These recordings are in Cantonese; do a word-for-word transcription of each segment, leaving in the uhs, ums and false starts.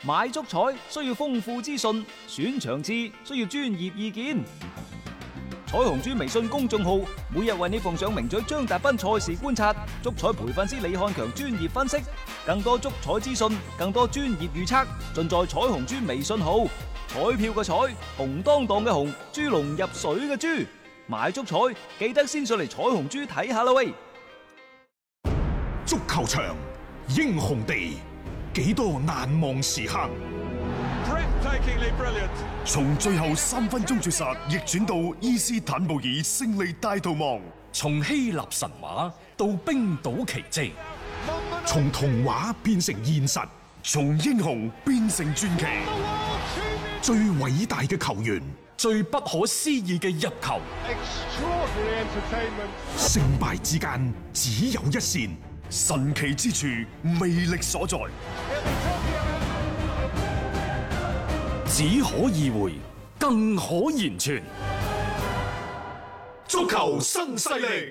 買足彩需要豐富資訊，選場次需要專業意見。彩虹豬微信公眾號每日為你奉上名嘴張達斌賽事觀察、足彩培訓師李漢強專業分析，更多足彩資訊、更多專業預測，盡在彩虹豬微信號。彩票嘅彩，紅當當嘅紅，豬籠入水嘅豬，買足彩記得先上嚟彩虹豬睇下啦喂！ 足球場，英雄地，幾多難忘時刻。從最後三分鐘絕殺逆轉到伊斯坦布爾勝利大逃亡， 從希臘神話到冰島奇蹟， 從童話變成現實，從英雄變成傳奇。最偉大嘅球員， 最不可思議嘅入球， 勝敗之間只有一線，神奇之處魅力所在。 只可意會，更可言傳。 足球新勢力。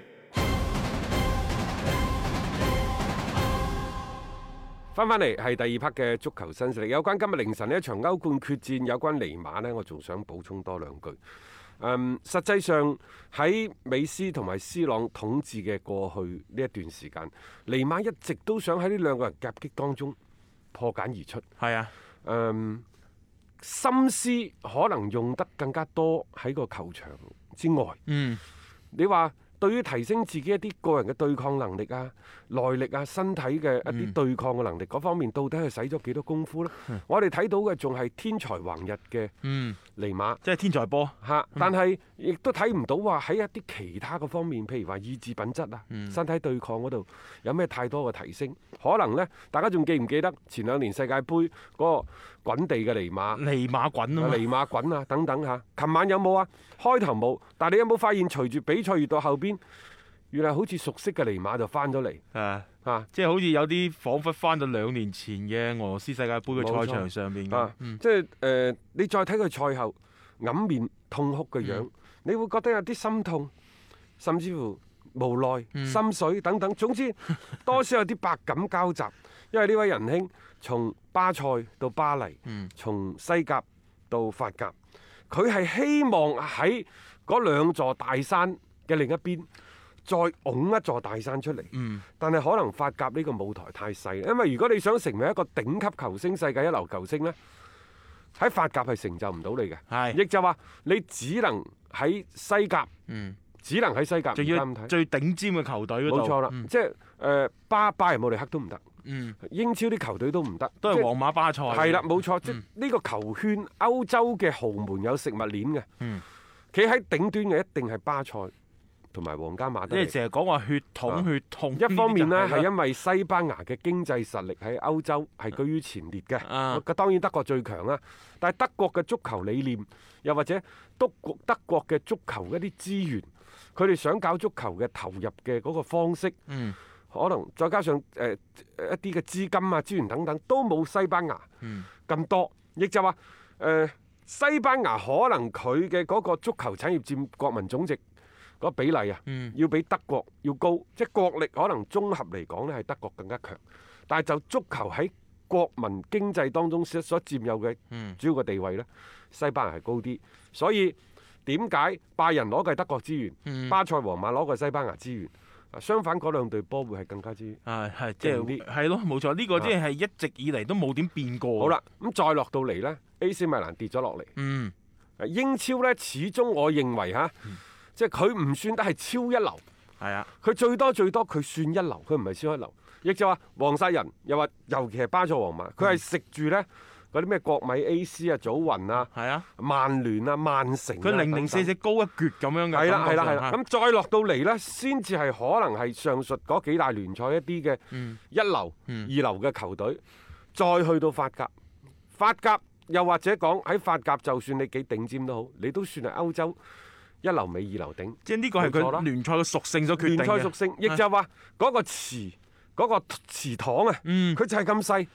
翻翻嚟係第二 part 嘅足球新勢力，有關今日凌晨呢一場歐冠決戰，有關尼馬呢，我仲想補充多兩句。嗯，實際上喺美斯同埋斯朗統治嘅過去呢一段時間，尼馬一直都想喺呢兩個人夾擊當中破繭而出。 係啊， 嗯，心思可能用得更加多喺個球場之外。 嗯， 你話對於提升自己一啲個人嘅對抗能力啊、耐力啊、身體嘅一啲對抗嘅能力嗰、嗯、方面，到底係使咗幾多功夫呢？嗯、我哋睇到嘅仲係天才橫溢嘅尼馬， 嗯、即係天才波嚇，嗯、但係亦都睇唔到話喺一啲其他嘅方面，譬如話意志品質啊、嗯、身體對抗嗰度有咩太多嘅提升？可能呢，大家仲記唔記得前兩年世界盃嗰個滾地嘅尼馬？ 尼馬滾啊！ 尼馬滾啊！等等嚇，琴晚有冇啊？開頭冇，但係你有冇發現隨住比賽越到後邊？原來好似熟悉嘅尼馬就翻咗嚟， 啊啊， 啊即係好似有啲彷彿翻到兩年前嘅俄羅斯世界盃嘅賽場上面嘅， 啊嗯、即係誒、呃，你再睇佢賽後揞面痛哭嘅樣，嗯、你會覺得有啲心痛，甚至乎無奈、嗯、心水等等，總之多少有啲百感交集。因為呢位仁兄從巴塞到巴黎，嗯、從西甲到法甲，佢係希望喺嗰兩座大山嘅另一邊，再拱一座大山出嚟，嗯、但係可能法甲呢個舞台太細，因為如果你想成為一個頂級球星、世界一流球星呢，喺法甲係成就唔到你嘅，係，亦就話你只能喺西甲，嗯、只能喺西甲， 仲要最頂尖嘅球隊嗰度， 冇錯啦，嗯、即係誒、呃、巴巴仁慕尼黑都唔得。嗯、英超啲球隊都唔得， 都係皇馬巴塞。 係啦，冇錯，嗯、即係呢個球圈歐洲嘅豪門有食物鏈嘅，企喺、嗯、頂端嘅一定係巴塞同埋皇家馬德里。 即係成日講話血統、啊、血統。 一方面呢，係因為西班牙嘅經濟實力喺歐洲係居於前列嘅，啊、當然德國最強啦。但係德國嘅足球理念，又或者德國德國嘅足球一啲資源，佢哋想搞足球嘅投入嘅嗰個方式。嗯可能再加上誒、呃、一啲嘅資金啊、資源等等，都冇西班牙咁多。亦、嗯、就話誒、呃，西班牙可能佢嘅嗰個足球產業佔國民總值嗰比例啊，嗯、要比德國要高。即係國力可能綜合嚟講咧，係德國更加強。但係就足球喺國民經濟當中所所佔有嘅主要嘅地位咧，西班牙係高啲。所以點解拜仁攞嘅係德國資源，嗯、巴塞、皇馬攞嘅係西班牙資源？相反，嗰兩隊波會係更加之係係即係係咯，冇錯，呢個即係一直以嚟都冇點變過。 好啦，咁再落到嚟呢 A C 米蘭跌咗落嚟。嗯，英超呢，始終我認為嚇，嗯、即係佢唔算得係超一流。係啊，佢最多最多佢算一流，佢唔係超一流。亦就話皇室人又話，尤其係巴塞、皇馬，佢係食住呢。嗰啲咩國米 A C 啊、祖雲啊、係啊、曼聯啊、曼城，佢零零四四高一橛咁樣嘅。係啦係啦係啦，咁再落到嚟呢，先至係可能係上述嗰幾大聯賽一啲嘅一流、嗯、二流嘅球隊，再去到法甲，法甲又或者講喺法甲，就算你幾頂尖都好，你都算係歐洲一流尾二流頂。即係呢個係佢聯賽嘅屬性所決定嘅。聯賽屬性，亦就話嗰個池嗰、嗰個池塘啊，佢、嗯、就係咁細。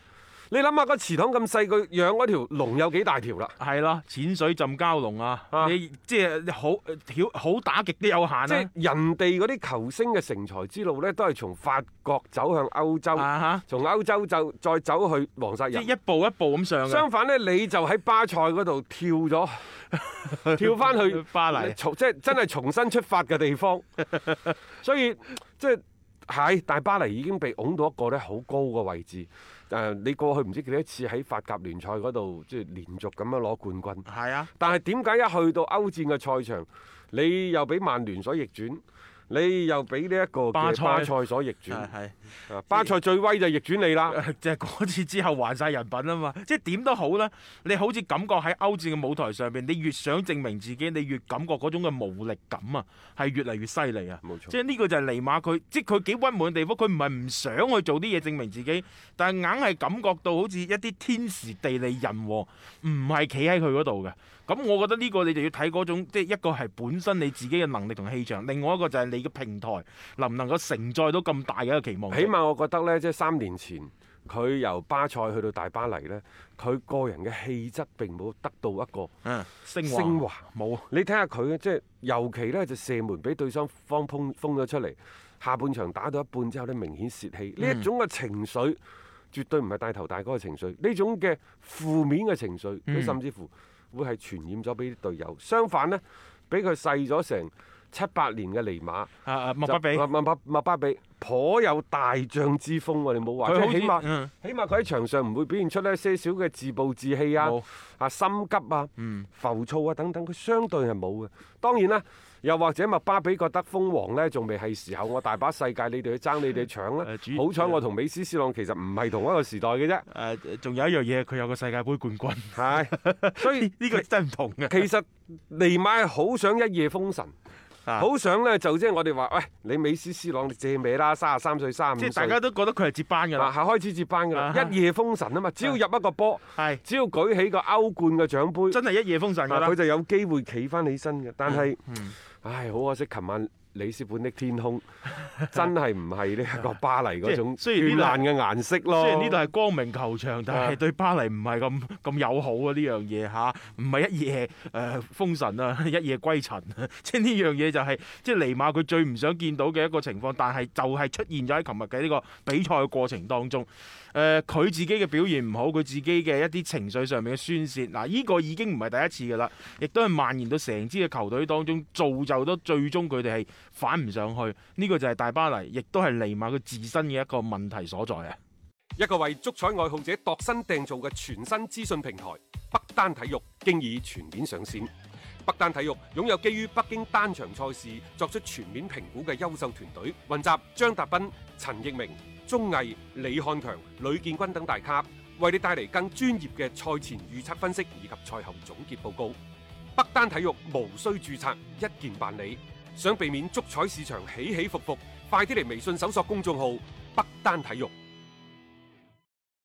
你諗下個祠堂咁細，佢養嗰條龍有幾大條啦？ 係咯，淺水浸蛟龍啊！ 啊你即係好好打極都有限啊！ 即係人哋嗰啲球星嘅成才之路呢，都係從法國走向歐洲， 啊從歐洲就再走去皇室人。 即係一步一步咁上嘅。 相反呢，你就喺巴塞嗰度跳咗，跳翻去巴黎， 重即係真係重新出發嘅地方。所以即係係，但係巴黎已經被拱到一個咧好高嘅位置。誒、呃，你過去唔知幾多次喺法甲聯賽嗰度，即係連續咁樣攞冠軍。 係啊， 但係點解一去到歐戰嘅賽場，你又俾曼聯所逆轉？你又俾呢一個嘅巴塞所逆轉， 係巴塞最威就逆轉你啦， 就係嗰次之後還晒人品啊嘛！即係點都好啦，你好似感覺喺歐戰嘅舞台上邊，你越想證明自己，你越感覺嗰種嘅無力感啊，係越嚟越犀利啊！ 冇錯， 即係呢個就係尼馬佢，即係佢幾鬱悶嘅地方，佢唔係唔想去做啲嘢證明自己，但係硬係感覺到好似一啲天時地利人和唔係企喺佢嗰度嘅。咁我覺得呢個你就要睇嗰種，即係一個係本身你自己嘅能力同氣場，另外一個就係你嘅平台能唔能夠承載到咁大嘅一個期望。 起碼我覺得呢，即係三年前佢由巴塞去到大巴黎呢，佢個人嘅氣質並冇得到一個嗯升升華冇。 華你睇下佢即係尤其呢，就射門俾對方方封封咗出嚟，下半場打到一半之後呢，明顯泄氣，呢、嗯、一種嘅情緒絕對唔係大頭大哥嘅情緒，呢種嘅負面嘅情緒，佢、嗯、甚至乎會係傳染咗俾啲隊友。相反呢，俾佢細咗成七八年嘅尼馬， 啊啊麥巴比， 麥麥麥麥巴比，頗有大將之風喎。你冇話，即起碼、嗯、起碼佢喺場上唔會表現出呢些少嘅自暴自棄啊、啊心急啊、嗯、浮躁啊等等，佢相對係冇嘅。當然啦。又或者麥巴比覺得封王呢仲未係時候，我大把世界，你哋去爭，你哋搶啦。呃、好彩我同美斯、斯朗其實唔係同一個時代嘅啫。誒、 呃，仲有一樣嘢，佢有個世界盃冠軍。 係，所以呢個真係唔同嘅。 其實尼馬係好想一夜封神。好想咧，就即係我哋話，喂，你美斯、斯朗你借名啦，三十三歲、三十五歲， 即係大家都覺得佢係接班㗎啦， 係開始接班㗎啦， 啊、 一夜封神啊嘛，只要入一個波， 係， 只要舉起個歐冠嘅獎杯， 真係一夜封神㗎啦， 佢就有機會企翻起身嘅。但係， 嗯嗯、 唉，好可惜，琴晚里斯本的天空真係唔係呢一個巴黎嗰種絢爛嘅顏色咯。 雖然呢度係光明球場，但係對巴黎唔係咁咁友好啊！呢樣嘢嚇，唔係一夜誒、呃、封神啊，一夜歸塵啊！即係呢樣嘢就係、是、即係尼馬佢最唔想見到嘅一個情況，但係就係出現咗喺琴日嘅呢個比賽嘅過程當中。誒、呃、佢自己嘅表現唔好，佢自己嘅一啲情緒上面嘅宣泄，嗱、這、呢個已經唔係第一次㗎啦，亦都係蔓延到成支嘅球隊當中，造就到最終佢哋係反唔上去。呢、這個就係大巴黎，亦都係尼馬佢自身嘅一個問題所在啊！ 一個為足彩愛好者度身訂造嘅全新資訊平台北單體育，經已全面上線。北單體育擁有基於北京單場賽事作出全面評估嘅優秀團隊，雲集張達斌、陳奕明、鐘毅、李漢強、呂建軍等大咖，為你帶嚟更專業嘅賽前預測分析以及賽後總結報告。北單體育無需註冊，一鍵辦理。想避免足彩市場起起伏伏，快啲嚟微信搜索公眾號北單體育。